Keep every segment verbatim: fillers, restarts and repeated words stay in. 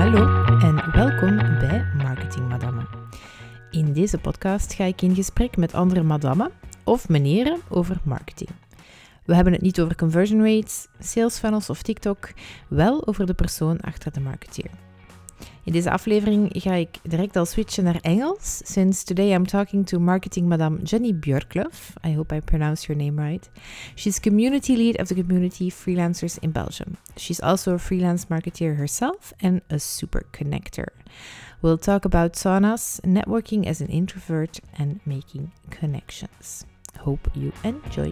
Hallo en welkom bij Marketing Madammen. In deze podcast ga ik in gesprek met andere madammen of meneren over marketing. We hebben het niet over conversion rates, sales funnels of TikTok, wel over de persoon achter de marketeer. In deze aflevering ga ik direct al switchen naar Engels, since today I'm talking to marketing madame Jenny Björklöf. I hope I pronounce your name right. She's community lead of the community freelancers in Belgium. She's also a freelance marketeer herself and a super connector. We'll talk about saunas, networking as an introvert, and making connections. Hope you enjoy.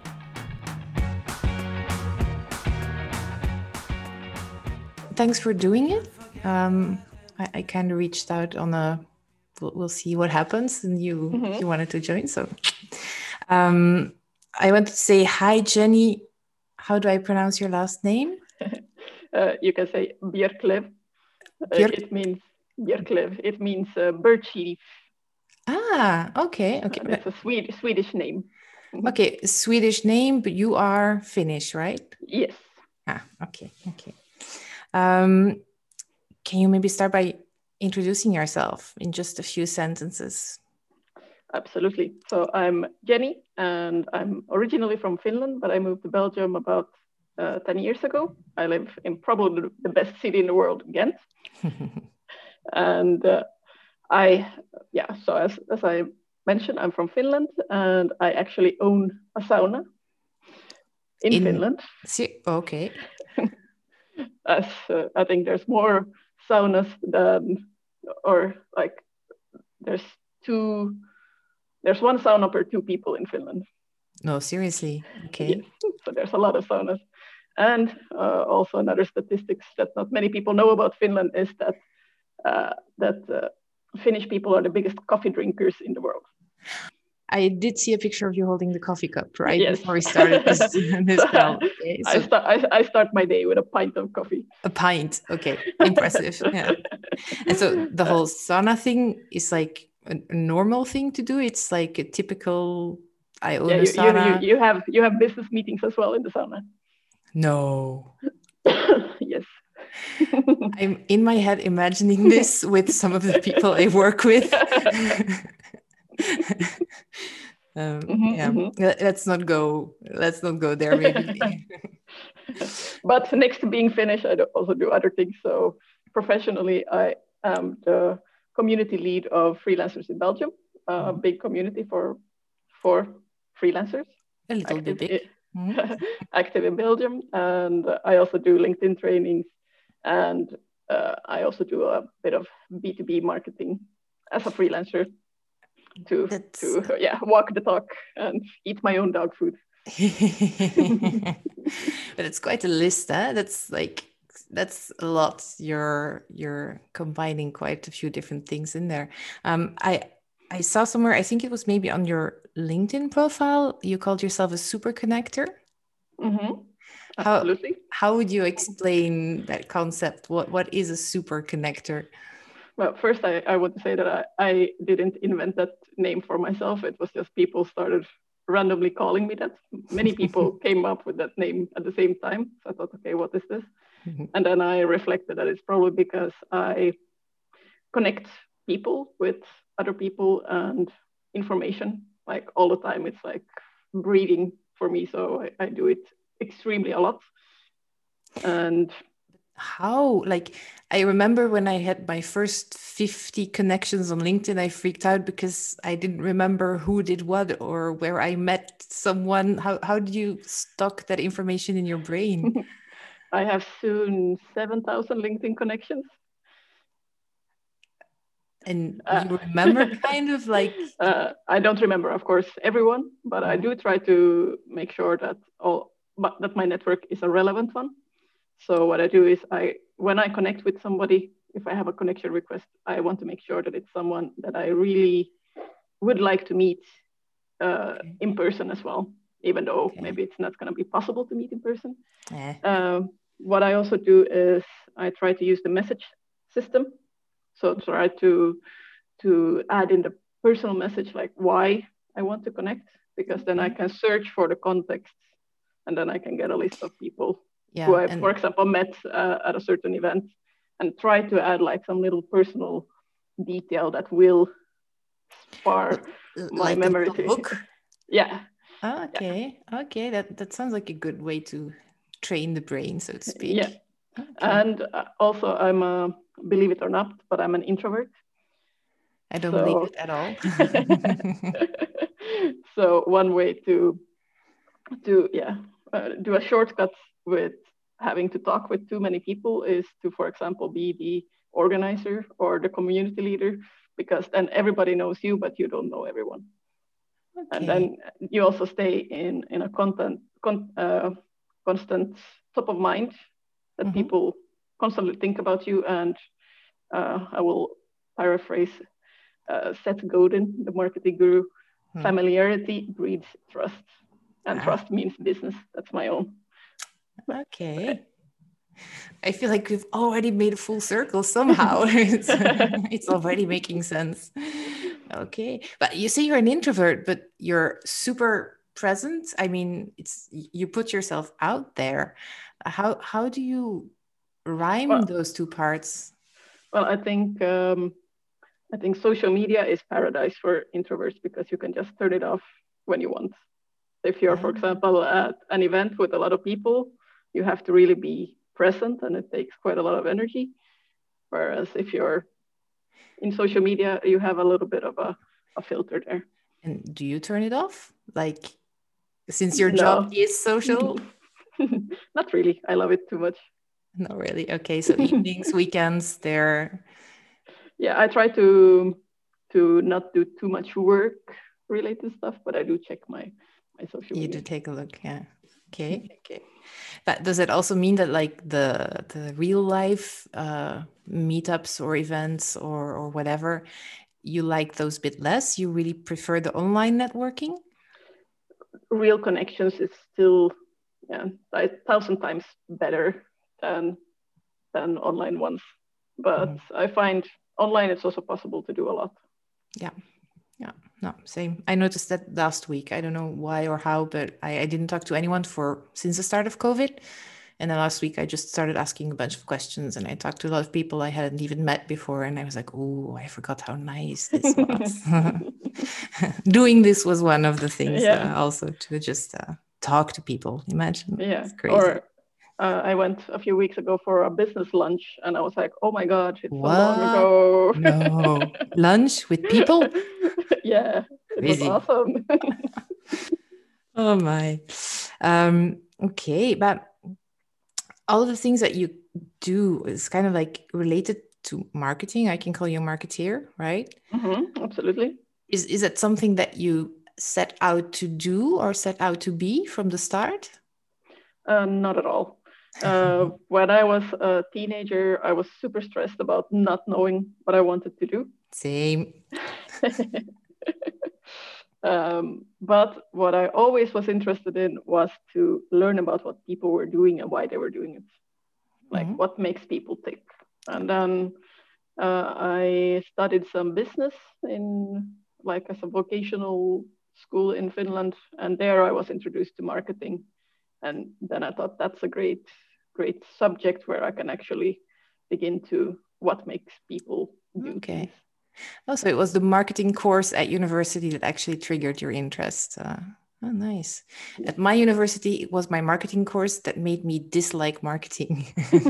Thanks for doing it. Um, I, I kind of reached out on a, we'll, we'll see what happens, and you mm-hmm. you wanted to join. So um, I wanted to say hi, Jenny. How do I pronounce your last name? uh, you can say Björklöf. Uh, Björk- it means Björklöf. It means uh, birch leaf. Ah, okay, okay. Uh, it's a Swedish Swedish name. Okay, Swedish name, but you are Finnish, right? Yes. Ah, okay, okay. Um, can you maybe start by introducing yourself in just a few sentences? Absolutely. So I'm Jenny, and I'm originally from Finland, but I moved to Belgium about uh, ten years ago. I live in probably the best city in the world, Ghent. and uh, I, yeah, so as, as I mentioned, I'm from Finland, and I actually own a sauna in, in... Finland. See, okay. As uh, I think there's more saunas than, or like there's two, there's one sauna per two people in Finland. No, seriously. Okay. Yes. So there's a lot of saunas. And uh, also another statistics that not many people know about Finland is that uh, that uh, Finnish people are the biggest coffee drinkers in the world. I did see a picture of you holding the coffee cup, right? Yes. Before we started this, this call. Okay, so I, start, I, I start my day with a pint of coffee. A pint. Okay. Impressive. Yeah. And so the whole sauna thing is like a, a normal thing to do. It's like a typical, I own yeah, a you, sauna. You, you, have, you have business meetings as well in the sauna. No. Yes. I'm in my head imagining this with some of the people I work with. um, mm-hmm, yeah, mm-hmm. let's not go. Let's not go there. Maybe. But next to being Finnish, I also do other things. So professionally, I am the community lead of freelancers in Belgium, a mm-hmm. big community for for freelancers. A little bit big. Mm-hmm. Active in Belgium, and I also do LinkedIn trainings, and uh, I also do a bit of B two B marketing as a freelancer. To That's... to yeah walk the talk and eat my own dog food. But it's quite a list, huh? That's like that's a lot. You're you're combining quite a few different things in there. Um, I I saw somewhere, I think it was maybe on your LinkedIn profile, you called yourself a super connector. Mm-hmm. Absolutely. How, how would you explain that concept? What what is a super connector? Well, first, I, I would say that I, I didn't invent that name for myself. It was just people started randomly calling me that. Many people came up with that name at the same time. So I thought, okay, what is this? Mm-hmm. And then I reflected that it's probably because I connect people with other people and information like all the time. It's like breathing for me. So I, I do it extremely a lot. And how, like, I remember when I had my first fifty connections on LinkedIn, I freaked out because I didn't remember who did what or where I met someone. How how did you stock that information in your brain? I have soon seven thousand LinkedIn connections. And you remember kind of like... Uh, I don't remember, of course, everyone, but mm-hmm. I do try to make sure that all, but that my network is a relevant one. So what I do is I, when I connect with somebody, if I have a connection request, I want to make sure that it's someone that I really would like to meet uh, okay. in person as well, even though okay. maybe it's not going to be possible to meet in person. Eh. Um, what I also do is I try to use the message system. So try to to add in the personal message, like why I want to connect, because then I can search for the context and then I can get a list of people yeah, who I, and... for example, met uh, at a certain event and try to add like some little personal detail that will spar my like memory. a book. Yeah. Oh, okay. Yeah. Okay. That that sounds like a good way to train the brain, so to speak. Yeah. Okay. And also, I'm a, believe it or not, but I'm an introvert. I don't so... believe it at all. So one way to to yeah uh, do a shortcut with having to talk with too many people is to, for example, be the organizer or the community leader, because then everybody knows you, but you don't know everyone. Okay. And then you also stay in in a content con, uh, constant top of mind that mm-hmm. people constantly think about you. And uh, I will paraphrase uh, Seth Godin, the marketing guru. Hmm. Familiarity breeds trust, and ah. trust means business. That's my own. Okay. I feel like we've already made a full circle somehow. it's, it's already making sense. Okay. But you say you're an introvert, but you're super present. I mean, it's you put yourself out there. How how do you rhyme well, those two parts? Well, I think um, I think social media is paradise for introverts because you can just turn it off when you want. If you're, for example, at an event with a lot of people, you have to really be present, and it takes quite a lot of energy. Whereas if you're in social media, you have a little bit of a, a filter there. And do you turn it off? Like, since your no. job is social? Not really. I love it too much. Not really. Okay, so evenings, weekends, they're... Yeah, I try to to not do too much work-related stuff, but I do check my, my social media. You do take a look, yeah. Okay, okay. But does it also mean that like the the real life uh, meetups or events or or whatever, you like those a bit less? You really prefer the online networking? Real connections is still yeah, a thousand times better than than online ones. But mm-hmm. I find online it's also possible to do a lot. Yeah. Yeah, no, same. I noticed that last week. I don't know why or how, but I, I didn't talk to anyone for since the start of COVID. And then last week I just started asking a bunch of questions, and I talked to a lot of people I hadn't even met before. And I was like, oh, I forgot how nice this was. Doing this was one of the things yeah. uh, also to just uh, talk to people. Imagine. Yeah. It's crazy. Or uh, I went a few weeks ago for a business lunch, and I was like, oh my God, it's what? so long ago. No. Lunch with people? Yeah, it Crazy. was awesome. Oh my. Um, okay, but all of the things that you do is kind of like related to marketing. I can call you a marketeer, right? Mm-hmm, absolutely. Is is it something that you set out to do or set out to be from the start? Uh, not at all. Uh, when I was a teenager, I was super stressed about not knowing what I wanted to do. Same. um, but what I always was interested in was to learn about what people were doing and why they were doing it. Like mm-hmm. what makes people tick. And then uh, I studied some business in like as a vocational school in Finland. And there I was introduced to marketing. And then I thought that's a great, great subject where I can actually dig into what makes people do okay. things. Oh, so it was the marketing course at university that actually triggered your interest. Uh, oh, nice. Yeah. At my university, it was my marketing course that made me dislike marketing.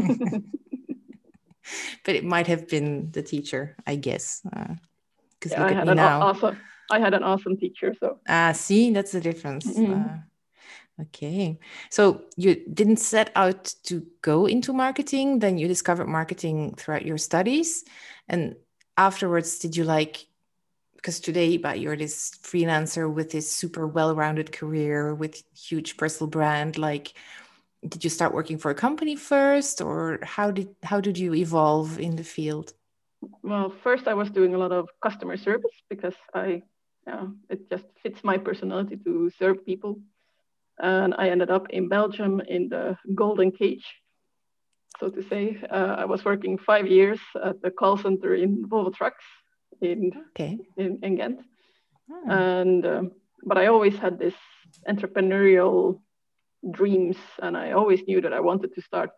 But it might have been the teacher, I guess. Because uh, yeah, look I at had me an now. Awesome, I had an awesome teacher. So ah, see, that's the difference. Mm-hmm. Uh, okay, so you didn't set out to go into marketing, then you discovered marketing throughout your studies, and afterwards, did you like? Because today, but you're this freelancer with this super well-rounded career with huge personal brand. Like, did you start working for a company first, or how did how did you evolve in the field? Well, first I was doing a lot of customer service because I, yeah, it just fits my personality to serve people. And I ended up in Belgium in the golden cage, so to say. Uh, I was working five years at the call center in Volvo Trucks in okay. in, in Ghent. Oh. And um, but I always had this entrepreneurial dreams, and I always knew that I wanted to start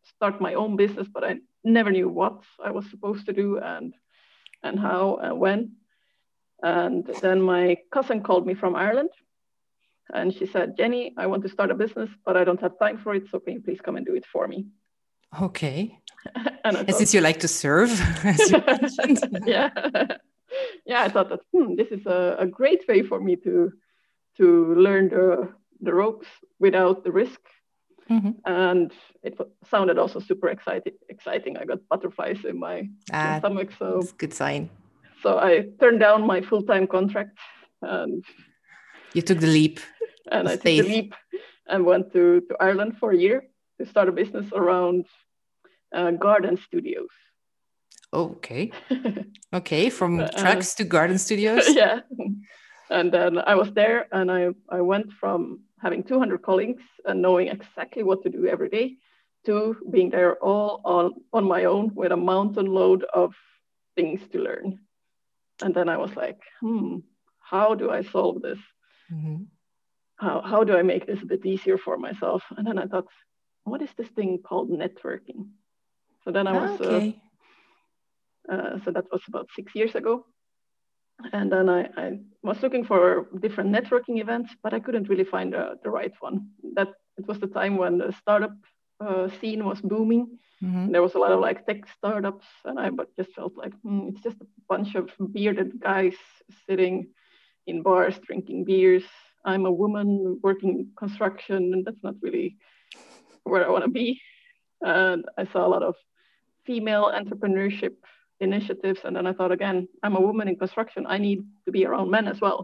start my own business, but I never knew what I was supposed to do and and how and when. And then my cousin called me from Ireland, and she said, Jenny, I want to start a business, but I don't have time for it. So can you please come and do it for me? Okay. and, and since you like to serve, as you mentioned. yeah. yeah, I thought that hmm, this is a, a great way for me to to learn the, the ropes without the risk. Mm-hmm. And it sounded also super exciting. Exciting. I got butterflies in my, ah, my stomach. So that's a good sign. So I turned down my full-time contract, and you took the leap. And I faith. took the leap and went to, to Ireland for a year to start a business around uh, garden studios. Okay. Okay, from uh, trucks to garden studios. Yeah. And then I was there, and I, I went from having two hundred colleagues and knowing exactly what to do every day to being there all on, on my own with a mountain load of things to learn. And then I was like, hmm, how do I solve this? Mm-hmm. How, how do I make this a bit easier for myself? And then I thought, what is this thing called networking? So then I was, ah, okay. uh, uh, so that was about six years ago. And then I, I was looking for different networking events, but I couldn't really find uh, the right one. That it was the time when the startup uh, scene was booming. Mm-hmm. There was a lot of like tech startups, and I just felt like hmm, it's just a bunch of bearded guys sitting in bars drinking beers. I'm a woman working in construction, and that's not really where I want to be. And I saw a lot of female entrepreneurship initiatives, and then I thought again, I'm a woman in construction. I need to be around men as well.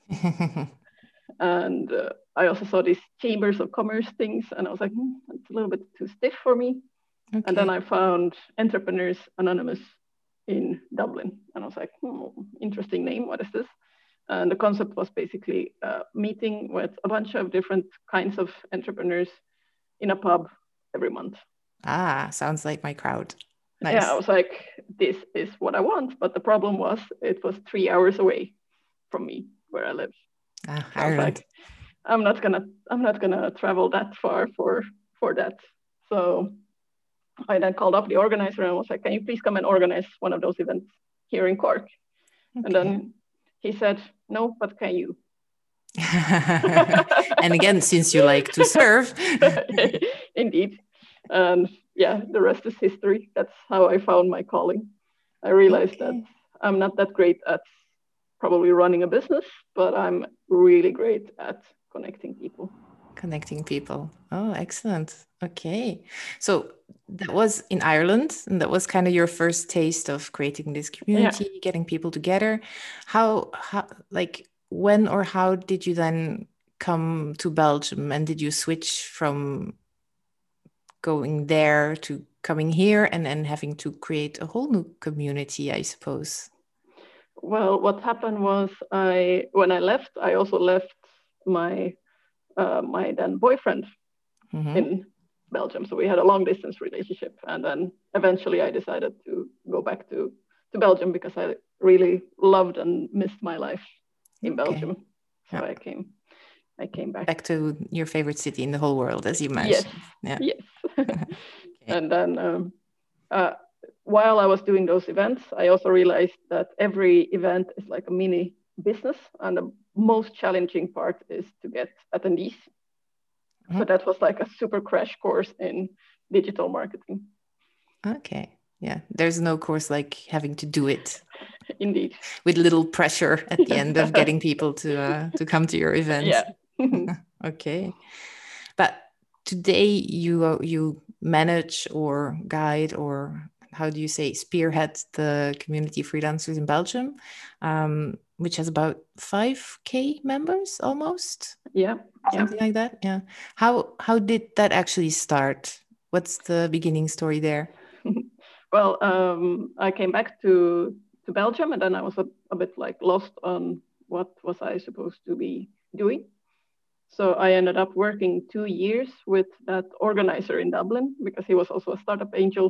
And uh, I also saw these chambers of commerce things, and I was like, hmm, it's a little bit too stiff for me. Okay. And then I found Entrepreneurs Anonymous in Dublin. And I was like, hmm, interesting name. What is this? And the concept was basically a meeting with a bunch of different kinds of entrepreneurs in a pub every month. Ah, sounds like my crowd. Nice. Yeah, I was like, this is what I want. But the problem was it was three hours away from me where I live. Ah, so I was like, I'm not gonna I'm not gonna travel that far for for that. So I then called up the organizer and was like, can you please come and organize one of those events here in Cork? Okay. And then he said, no, but can you? And again, since you like to serve. Indeed. And yeah, the rest is history. That's how I found my calling. I realized okay. that I'm not that great at probably running a business, but I'm really great at connecting people. Connecting people. Oh, excellent. Okay. So that was in Ireland, and that was kind of your first taste of creating this community, yeah. getting people together. How, how, like, when or how did you then come to Belgium, and did you switch from going there to coming here and then having to create a whole new community, I suppose? Well, what happened was I, when I left, I also left my Uh, my then boyfriend mm-hmm. in Belgium. So we had a long distance relationship. And then eventually I decided to go back to, to Belgium because I really loved and missed my life in okay. Belgium. So yeah. I came I came back. Back to your favorite city in the whole world, as you mentioned. Yes. Yeah. Yes. okay. And then um, uh, while I was doing those events, I also realized that every event is like a mini business, and the most challenging part is to get attendees. Mm-hmm. So that was like a super crash course in digital marketing. Okay. Yeah. There's no course like having to do it. Indeed. With little pressure at the end of getting people to uh, to come to your events. Yeah. Okay. But today you uh, you manage or guide, or how do you say, spearhead the community freelancers in Belgium, um, which has about five K members almost. Yeah. Something yeah. like that. Yeah. How how did that actually start? What's the beginning story there? Well, um, I came back to, to Belgium, and then I was a, a bit like lost on what was I supposed to be doing. So I ended up working two years with that organizer in Dublin because he was also a startup angel.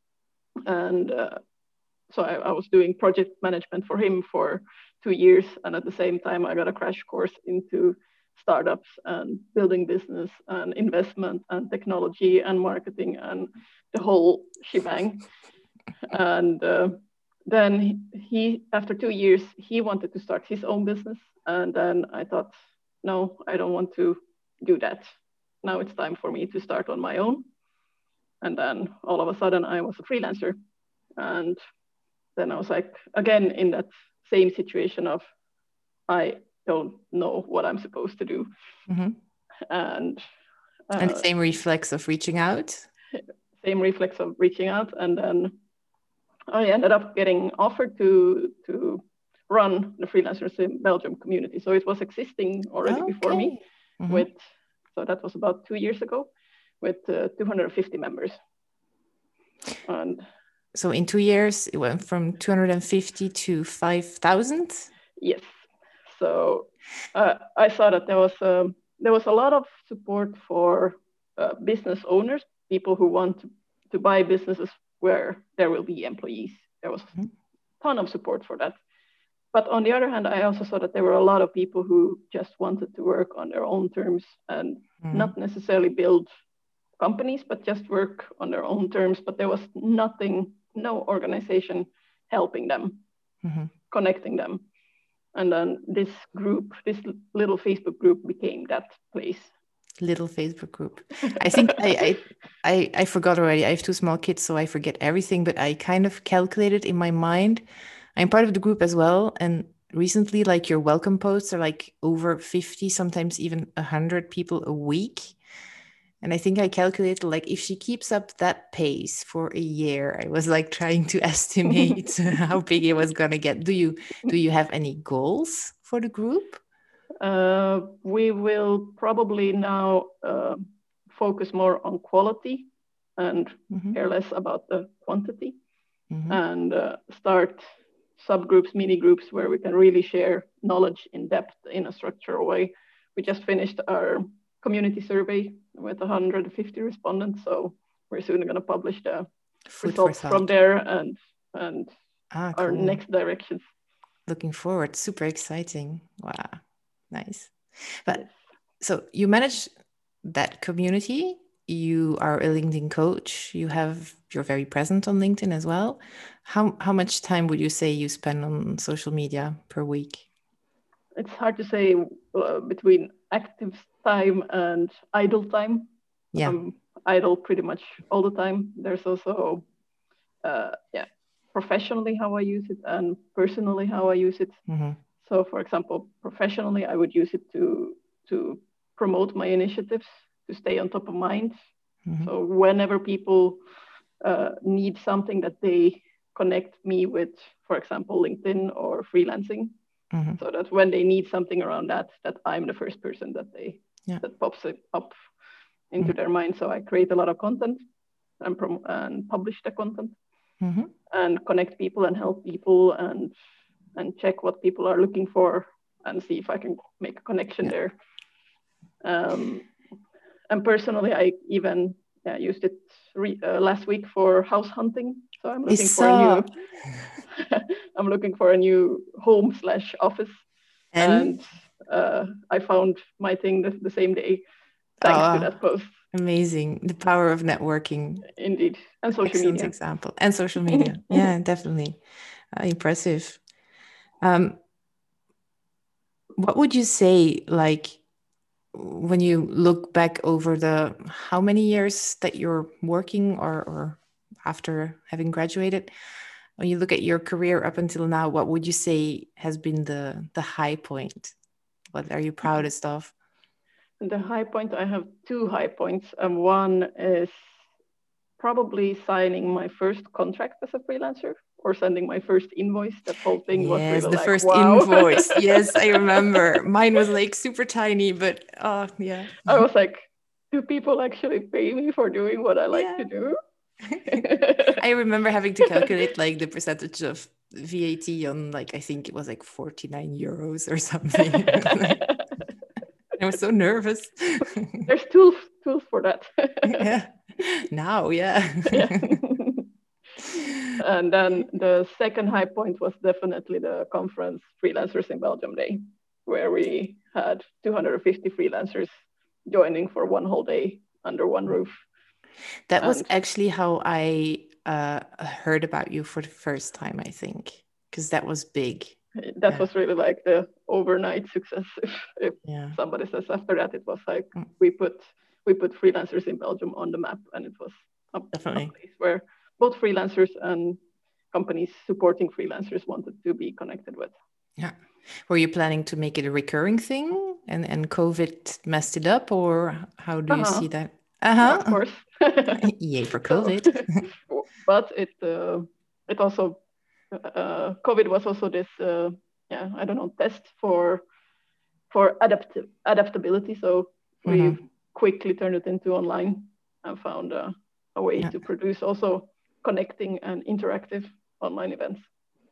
And uh, so I, I was doing project management for him for two years. And at the same time, I got a crash course into startups and building business and investment and technology and marketing and the whole shebang. And uh, then he, after two years, he wanted to start his own business. And then I thought, no, I don't want to do that. Now it's time for me to start on my own. And then all of a sudden I was a freelancer. And then I was like, again, in that same situation of, I don't know what I'm supposed to do. Mm-hmm. And, uh, and the same reflex of reaching out. Same reflex of reaching out. And then I ended up getting offered to, to run the Freelancers in Belgium community. So it was existing already okay. before me. Mm-hmm. with, so that was about two years ago, with uh, two hundred fifty members. And so in two years, it went from two hundred fifty to five thousand? Yes. So uh, I saw that there was, um, there was a lot of support for uh, business owners, people who want to, to buy businesses where there will be employees. There was Mm-hmm. a ton of support for that. But on the other hand, I also saw that there were a lot of people who just wanted to work on their own terms and Mm-hmm. not necessarily build companies, but just work on their own terms. But there was nothing, no organization helping them, Mm-hmm. connecting them. And then this group, this little Facebook group became that place. Little Facebook group. I think I, I I I forgot already. I have two small kids, so I forget everything, but I kind of calculated in my mind. I'm part of the group as well. And recently, like your welcome posts are like over fifty, sometimes even one hundred people a week. And I think I calculated like if she keeps up that pace for a year, I was like trying to estimate how big it was going to get. Do you do you have any goals for the group? Uh, we will probably now uh, focus more on quality and Mm-hmm. care less about the quantity, Mm-hmm. and uh, start subgroups, mini groups where we can really share knowledge in depth in a structural way. We just finished our community survey with one hundred fifty respondents, so we're soon going to publish the Food for results thought. from there and and Ah, our cool. next directions. Looking forward. Super exciting. Wow. Nice. But Yes. so you manage that community. You are a LinkedIn coach. You have you're very present on LinkedIn as well. How how much time would you say you spend on social media per week? It's hard to say uh, between active time and idle time. Yeah. I'm idle pretty much all the time. There's also, uh, yeah, professionally how I use it and personally how I use it. Mm-hmm. So, for example, professionally, I would use it to to promote my initiatives, to stay on top of mind. Mm-hmm. So whenever people uh, need something that they connect me with, for example, LinkedIn or freelancing, Mm-hmm. so that when they need something around that, that I'm the first person that they Yeah. that pops it up into Mm-hmm. their mind. So I create a lot of content and prom- and publish the content Mm-hmm. and connect people and help people and and check what people are looking for and see if I can make a connection Yeah. there. Um, and personally, I even yeah, used it re- uh, last week for house hunting. So I'm looking for a new. I'm looking for a new home slash office, And, and uh, I found my thing the, the same day, thanks oh, to that post. Amazing. The power of networking. Indeed, and social Excellent media. example. And social media. Yeah, definitely. Uh, impressive. Um, what would you say, like, when you look back over the how many years that you're working or, or after having graduated, when you look at your career up until now, what would you say has been the the high point? What are you proudest of? The high point, I have two high points. And one is probably signing my first contract as a freelancer or sending my first invoice. That whole thing Yes, was really the like, first wow. invoice. Yes, I remember. Mine was like super tiny, but oh, yeah. I was like, do people actually pay me for doing what I like Yeah. to do? I remember having to calculate like the percentage of V A T on like, I think it was like forty-nine euros or something. I was so nervous. There's tools tools for that. Yeah. Now, yeah. Yeah. And then the second high point was definitely the conference Freelancers in Belgium Day, where we had two hundred fifty freelancers joining for one whole day under one roof. That was and, actually how I uh, heard about you for the first time, I think, because that was big. That yeah. was really like the overnight success. If, if yeah. somebody says after that, it was like mm. we put we put freelancers in Belgium on the map, and it was a, a place where both freelancers and companies supporting freelancers wanted to be connected with. Yeah. Were you planning to make it a recurring thing, and and COVID messed it up, or how do you uh-huh. see that? Uh-huh. Of course. Yay for COVID. So, but it uh, it also uh, COVID was also this uh, yeah I don't know test for for adaptive adaptability. So we mm-hmm. quickly turned it into online and found uh, a way yeah. to produce also connecting and interactive online events.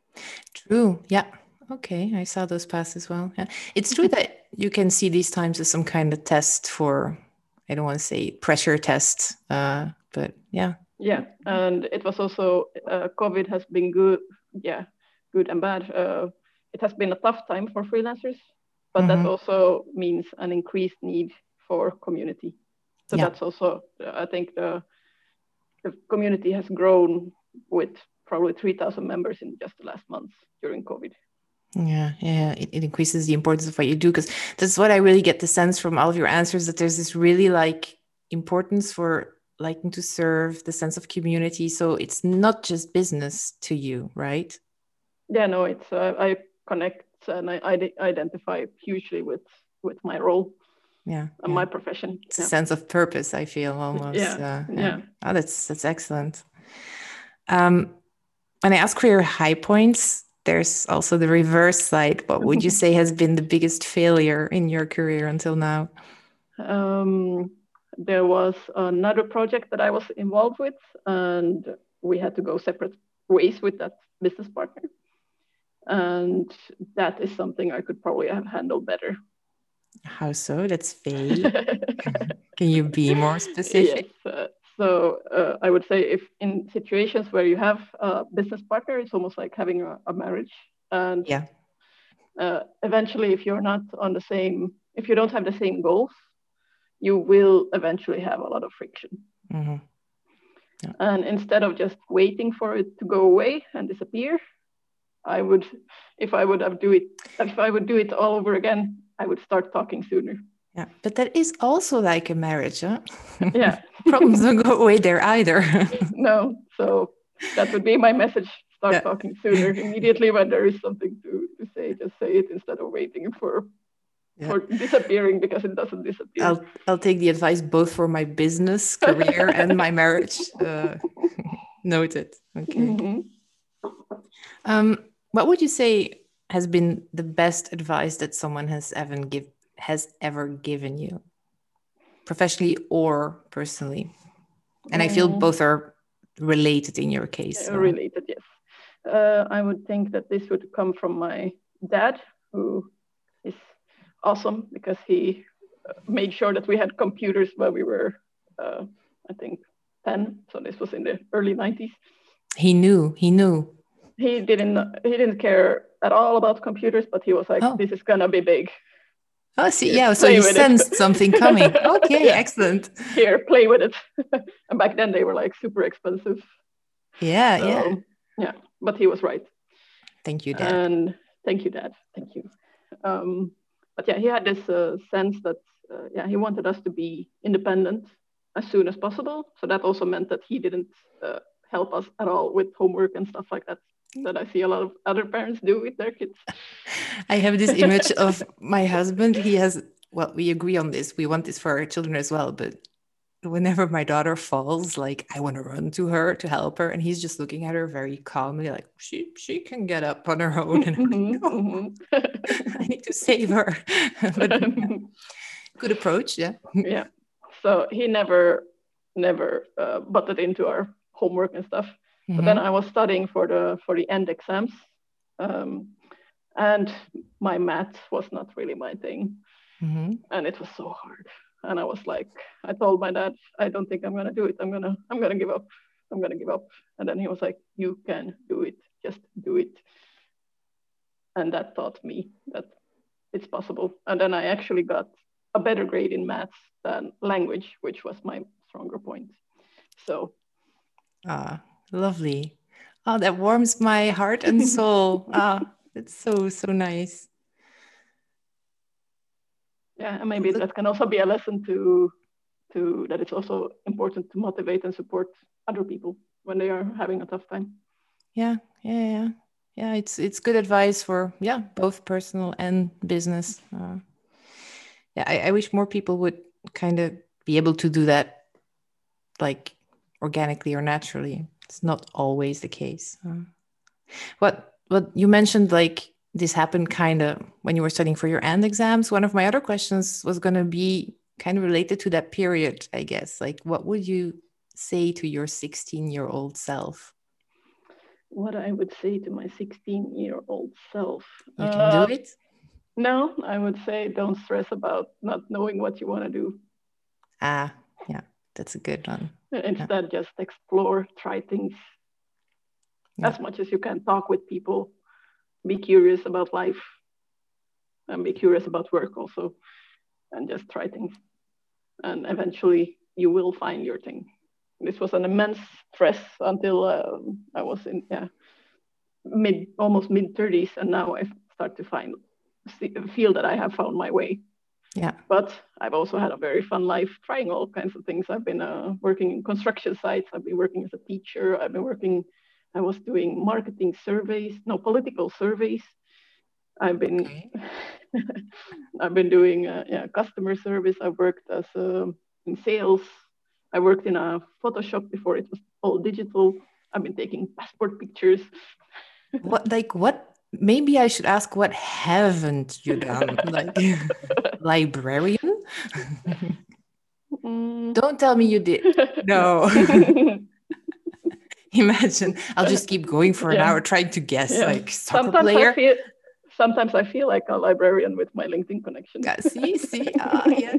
True. Yeah. Okay. I saw those pass as well. Yeah. It's true that you can see these times as some kind of test for, I don't want to say pressure test, uh, but yeah. Yeah. And it was also, uh, COVID has been good. Yeah. Good and bad. Uh, it has been a tough time for freelancers, but mm-hmm. that also means an increased need for community. So yeah. that's also, I think the, the community has grown with probably three thousand members in just the last month during COVID. Yeah, yeah, it, it increases the importance of what you do, because that's what I really get the sense from all of your answers, that there's this really like importance for liking to serve, the sense of community. So it's not just business to you, right? Yeah, no, it's uh, I connect and I, I identify hugely with with my role. Yeah, and yeah. my profession. It's yeah. a sense of purpose, I feel almost. Yeah, uh, yeah. yeah. Oh, that's that's excellent. Um, when I ask for your high points, there's also the reverse side. What would you say has been the biggest failure in your career until now? Um, there was another project that I was involved with, and we had to go separate ways with that business partner. And that is something I could probably have handled better. How so? That's vague. Can you be more specific? Yes. Uh, so uh, I would say if in situations where you have a business partner, it's almost like having a, a marriage. And yeah. uh, eventually, if you're not on the same, if you don't have the same goals, you will eventually have a lot of friction. Mm-hmm. Yeah. And instead of just waiting for it to go away and disappear, I would, if I would have do it, if I would do it all over again, I would start talking sooner. Yeah, but that is also like a marriage, huh? Yeah. Problems don't go away there either. No, so that would be my message. Start yeah. talking sooner. Immediately when there is something to, to say, just say it instead of waiting for yeah. for disappearing, because it doesn't disappear. I'll I'll take the advice both for my business career and my marriage. Uh, noted. Okay. Mm-hmm. Um, what would you say has been the best advice that someone has ever give has ever given you, professionally or personally? And I feel both are related in your case. So. Related, yes. Uh, I would think that this would come from my dad, who is awesome because he made sure that we had computers when we were, uh, I think, ten. So this was in the early nineties. He knew. He knew. He didn't. He didn't care at all about computers, but he was like, oh. "This is gonna be big." Oh, see, yeah. So he sensed something coming. Okay, yeah. Excellent. Here, play with it. And back then they were like super expensive. Yeah, so, yeah. Yeah, but he was right. Thank you, Dad. And thank you, Dad. Thank you. Um, but yeah, he had this uh, sense that uh, yeah, he wanted us to be independent as soon as possible. So that also meant that he didn't uh, help us at all with homework and stuff like that. That I see a lot of other parents do with their kids. I have this image of my husband. He has, well, we agree on this. We want this for our children as well. But whenever my daughter falls, like I want to run to her to help her. And he's just looking at her very calmly, like she she can get up on her own. And I'm like, no, mm-hmm. I need to save her. But yeah. Good approach, yeah. Yeah. So he never, never uh, butted into our homework and stuff. But mm-hmm. then I was studying for the for the end exams, um, and my math was not really my thing, mm-hmm. and it was so hard. And I was like, I told my dad, I don't think I'm gonna do it. I'm gonna I'm gonna give up. I'm gonna give up. And then he was like, you can do it. Just do it. And that taught me that it's possible. And then I actually got a better grade in maths than language, which was my stronger point. So. Ah, lovely. Oh, that warms my heart and soul. Ah, it's so, so nice. Yeah, and maybe that can also be a lesson to, to that it's also important to motivate and support other people when they are having a tough time. Yeah, yeah, yeah. Yeah, it's it's good advice for, yeah, both personal and business. Uh, yeah, I, I wish more people would kind of be able to do that, like organically or naturally. It's not always the case. Uh, what what you mentioned, like this happened kind of when you were studying for your end exams. One of my other questions was going to be kind of related to that period, I guess. Like, what would you say to your sixteen-year-old self? What I would say to my sixteen-year-old self. You can uh, do it. No, I would say don't stress about not knowing what you want to do. Ah, yeah, that's a good one. Instead, yeah. Just explore, try things yeah. as much as you can. Talk with people, be curious about life, and be curious about work also, and just try things. And eventually, you will find your thing. This was an immense stress until uh, I was in yeah, mid, almost mid thirties, and now I start to find feel that I have found my way. Yeah. But I've also had a very fun life, trying all kinds of things. I've been uh, working in construction sites. I've been working as a teacher. I've been working. I was doing marketing surveys, no political surveys. I've been okay. I've been doing uh, yeah customer service. I've worked as uh, in sales. I worked in a Photoshop before it was all digital. I've been taking passport pictures. What like what? Maybe I should ask, what haven't you done? Like librarian? Mm. Don't tell me you did. No. Imagine, I'll just keep going for yeah. an hour trying to guess, yeah. like soccer sometimes player. I feel, sometimes I feel like a librarian with my LinkedIn connection. Yeah, see, see, ah, yeah.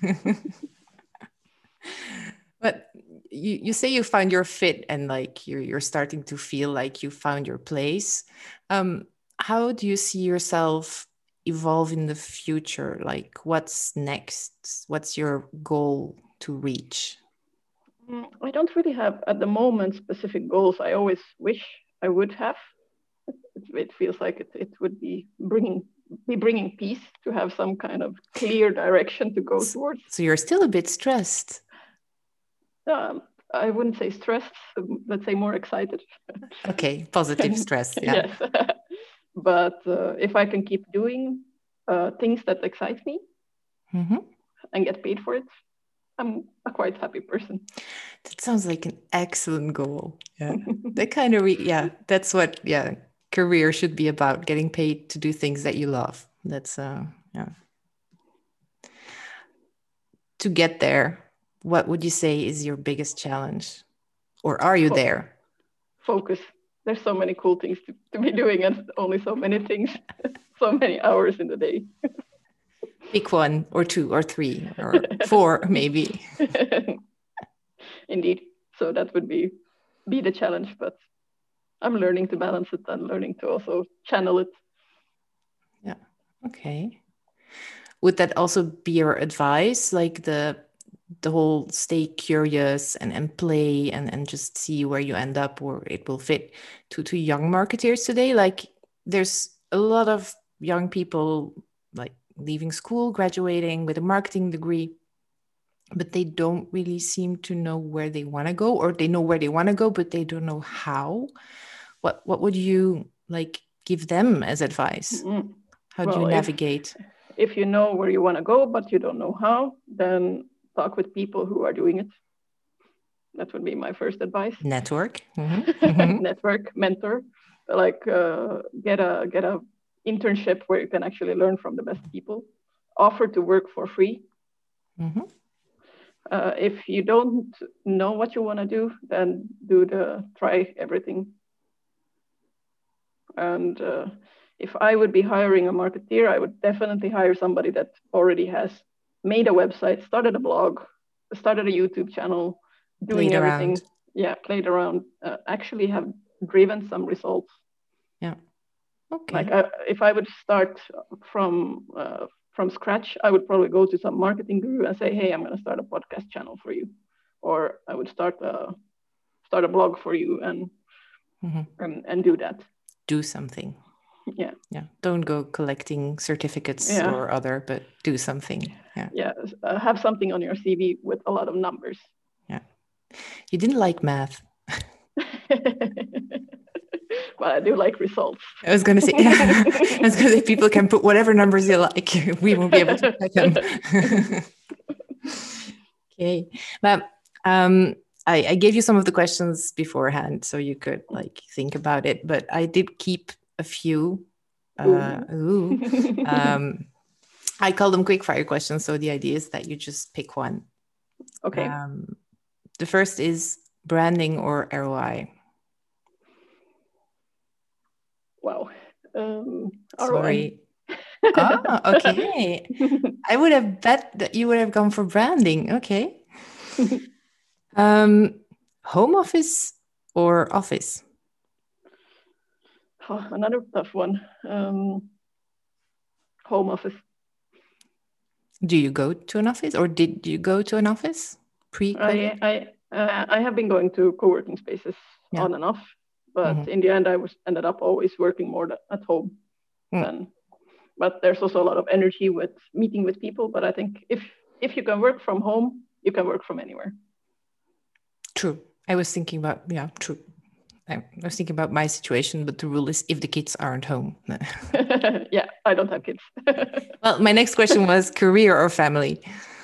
But you, you say you found your fit and like you're you're starting to feel like you found your place. Um, how do you see yourself evolve in the future? Like, what's next? What's your goal to reach? I don't really have at the moment specific goals. I always wish I would have. It, it feels like it, it would be bringing be bringing peace to have some kind of clear direction to go so, towards. So you're still a bit stressed. Um, I wouldn't say stressed. Let's say more excited. Okay, positive stress. Yeah. Yes, but uh, if I can keep doing uh, things that excite me mm-hmm. and get paid for it, I'm a quite happy person. That sounds like an excellent goal. Yeah. That kind of, re- yeah, that's what, yeah, career should be about, getting paid to do things that you love. That's, uh, yeah. To get there, what would you say is your biggest challenge? Or are you there? Focus. There's so many cool things to, to be doing and only so many things, so many hours in the day. Pick one or two or three or four, maybe. Indeed. So that would be be the challenge, but I'm learning to balance it and learning to also channel it. Yeah. Okay. Would that also be your advice? Like the the whole stay curious and, and play and, and just see where you end up or it will fit to, to young marketeers today? Like there's a lot of young people like leaving school, graduating with a marketing degree, but they don't really seem to know where they want to go, or they know where they want to go, but they don't know how. What what would you like give them as advice? Mm-hmm. How well, do you navigate? If, if you know where you want to go, but you don't know how, then talk with people who are doing it. That would be my first advice. Network. Mm-hmm. Network, mentor, like uh, get a get a internship where you can actually learn from the best people. Offer to work for free. Mm-hmm. Uh, if you don't know what you want to do, then do the try everything. And uh, if I would be hiring a marketeer, I would definitely hire somebody that already has made a website, started a blog, started a YouTube channel, doing played everything. Around. Yeah, played around, uh, actually have driven some results. Yeah. Okay. Like I, if I would start from uh, from scratch, I would probably go to some marketing guru and say, hey, I'm going to start a podcast channel for you. Or I would start a, start a blog for you and, mm-hmm. and, and do that. Do something. Yeah. Yeah. Don't go collecting certificates yeah. or other, but do something. Yeah. Yeah. Uh, have something on your C V with a lot of numbers. Yeah. You didn't like math. Well, I do like results. I was going to say, yeah. I was going to say, people can put whatever numbers you like. We won't be able to check them. Okay. But um, I, I gave you some of the questions beforehand, so you could like think about it. But I did keep a few. Uh, ooh. ooh. Um, I call them quick fire questions. So the idea is that you just pick one. Okay. Um, the first is branding or R O I. Wow. Um, Sorry. Ah, okay. I would have bet that you would have gone for branding. Okay. um, home office or office? Oh, another tough one. Um, home office. Do you go to an office, or did you go to an office pre-COVID? I I uh, I have been going to co-working spaces yeah. on and off. But mm-hmm. in the end, I was ended up always working more at home. Mm. Than, but there's also a lot of energy with meeting with people. But I think if if you can work from home, you can work from anywhere. True. I was thinking about, yeah, true. I was thinking about my situation, but the rule is if the kids aren't home. Yeah, I don't have kids. Well, my next question was career or family?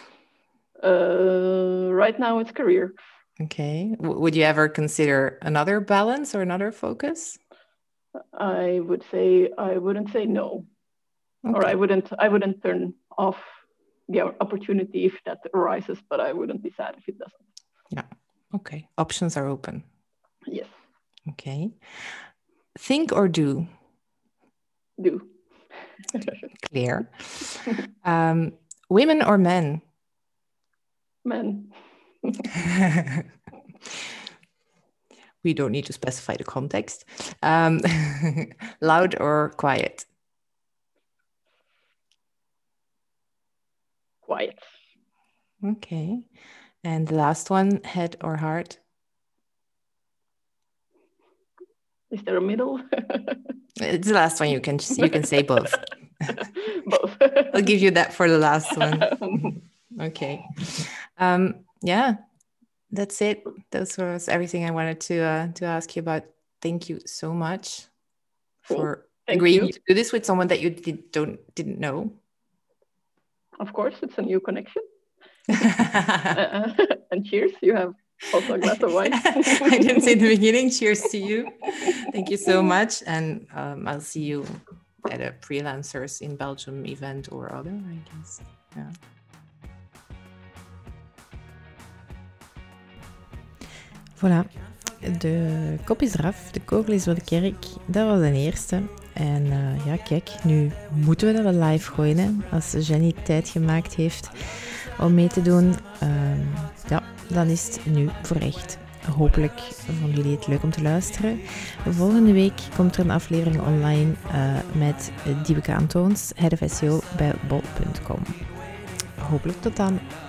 Uh, right now, it's career. Okay. W- would you ever consider another balance or another focus? I would say I wouldn't say no, okay. or I wouldn't I wouldn't turn off the opportunity if that arises, but I wouldn't be sad if it doesn't. Yeah. Okay. Options are open. Yes. Okay. Think or do? Do. Clear. Um, women or men? Men. We don't need to specify the context. Um, loud or quiet? Quiet. Okay. And the last one, head or heart? Is there a middle? It's the last one. You can you can say both. Both. I'll give you that for the last one. Okay. Um, yeah. That's it. That was everything I wanted to uh, to ask you about. Thank you so much cool. for Thank agreeing you. to do this with someone that you did, don't didn't know. Of course, it's a new connection. uh, and cheers! You have also a glass of wine. I didn't say in the beginning. Cheers to you. Thank you so much, and um, I'll see you at a Freelancers in Belgium event or other, I guess. Yeah. Voilà, de kop is eraf, de kogel is voor de kerk. Dat was de eerste. En uh, ja, kijk, nu moeten we dat wel live gooien. Hè? Als Jenny tijd gemaakt heeft om mee te doen, uh, ja, dan is het nu voor echt. Hopelijk vonden jullie het leuk om te luisteren. Volgende week komt er een aflevering online uh, met Diebeke Antoons, Head of S E O bij bol punt com. Hopelijk tot dan.